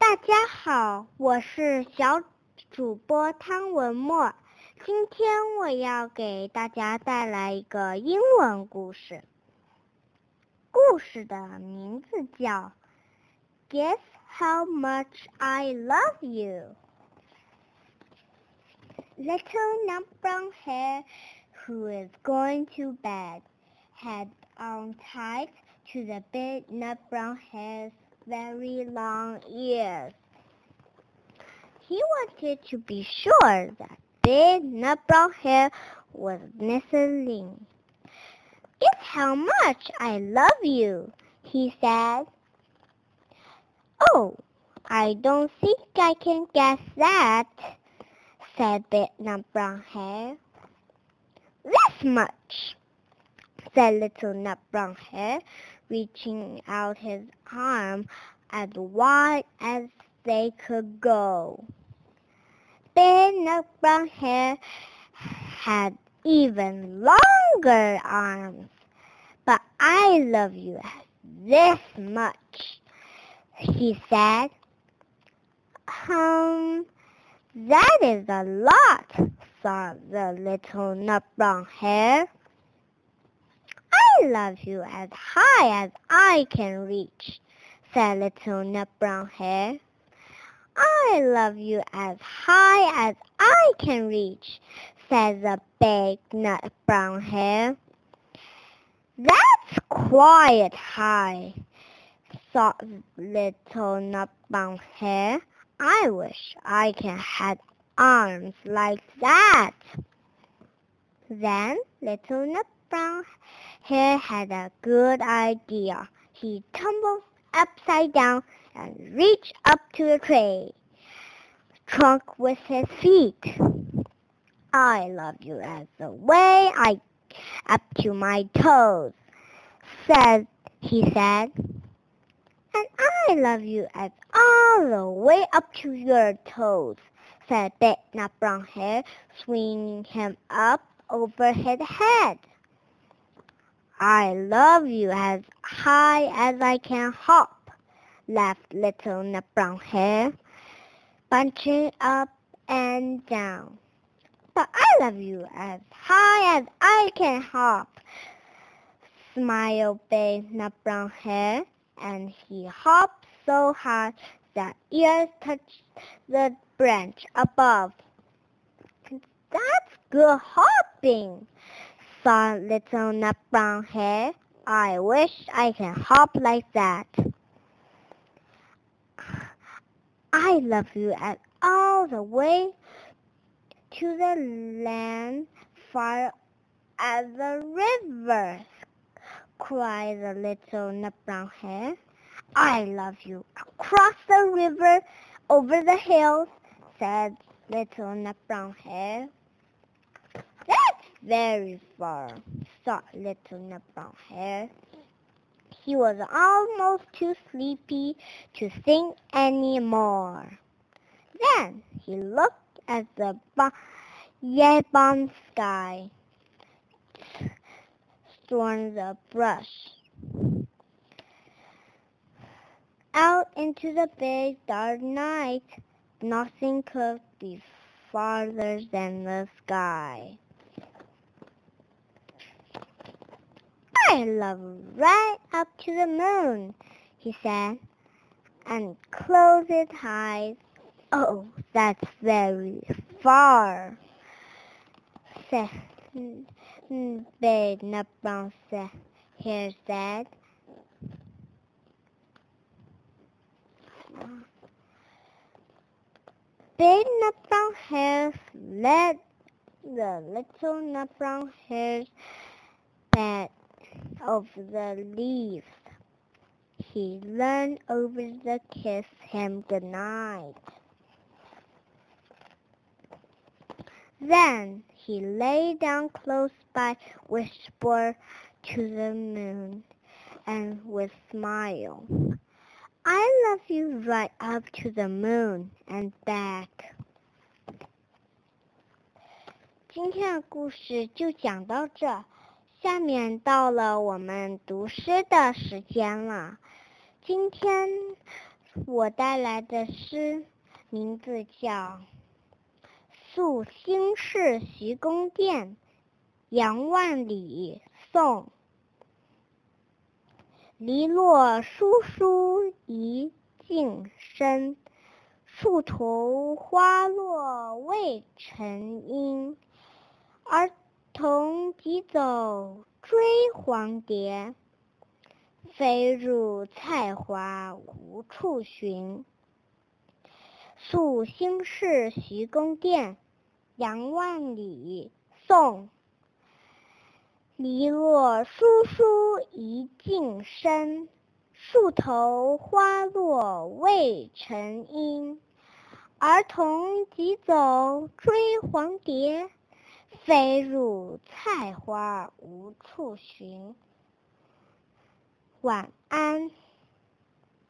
大家好，我是小主播汤文墨。今天我要给大家带来一个英文故事。故事的名字叫 Guess How Much I Love You. Little nut brown hare who is going to bed had on tied to the big nut brown hare's very long ears. He wanted to be sure that big nut brown hare was listening. Guess how much I love you, he said. Oh, I don't think I can guess that, said big nut brown hare. This much, said little nut brown hare, reaching out his arm as wide as they could go. Big nut brown hare had even longer arms. But I love you this much, he said. That is a lot, thought the little nut brown hare. I love you as high as I can reach, said little nut brown hare. I love you as high as I can reach, said the big nut brown hare. That's quite high, thought little nut brown hare. I wish I had arms like that. Then little nut brown hare had a good idea. He tumbled upside down and reached up to the tree trunk with his feet. I love you as the way I up to my toes, he said. And I love you as all the way up to your toes, said big nut brown hare, swinging him up over his head. I love you as high as I can hop, laughed little nut brown hare, bunching up and down. But I love you as high as I can hop, smiled big nut brown hare, and he hopped so high that ears touched the branch above. That's good hopping, thought little nut brown hare. I wish I can hop like that. I love you all the way to the land far as the river, cried the little nut brown hare. I love you across the river, over the hills, said little nut brown hare. That's very far, thought little nut brown hare. He was almost too sleepy to think any more. Then he looked at the yabong sky, stormed the brush, out into the big dark night. Nothing could be farther than the sky. I love right up to the moon, he said, and closed his eyes. Oh, that's very far, said big nut brown hare said. Big nut brown hare led the little nut brown hare's bed over the leaves. He leaned over to kiss him goodnight. Then he lay down close by, whispered to the moon, and would smile. I love you right up to the moon and back. 今天的故事就讲到这，下面到了我们读诗的时间了。今天我带来的诗名字叫《宿新市徐公店》，杨万里，宋。篱落疏疏一径深，树头花落未成阴。儿童急走追黄蝶，飞入菜花无处寻。宿新市徐公店，杨万里，宋。篱落疏疏一径深，树头花落未成阴。儿童急走追黄蝶，飞入菜花无处寻。晚安。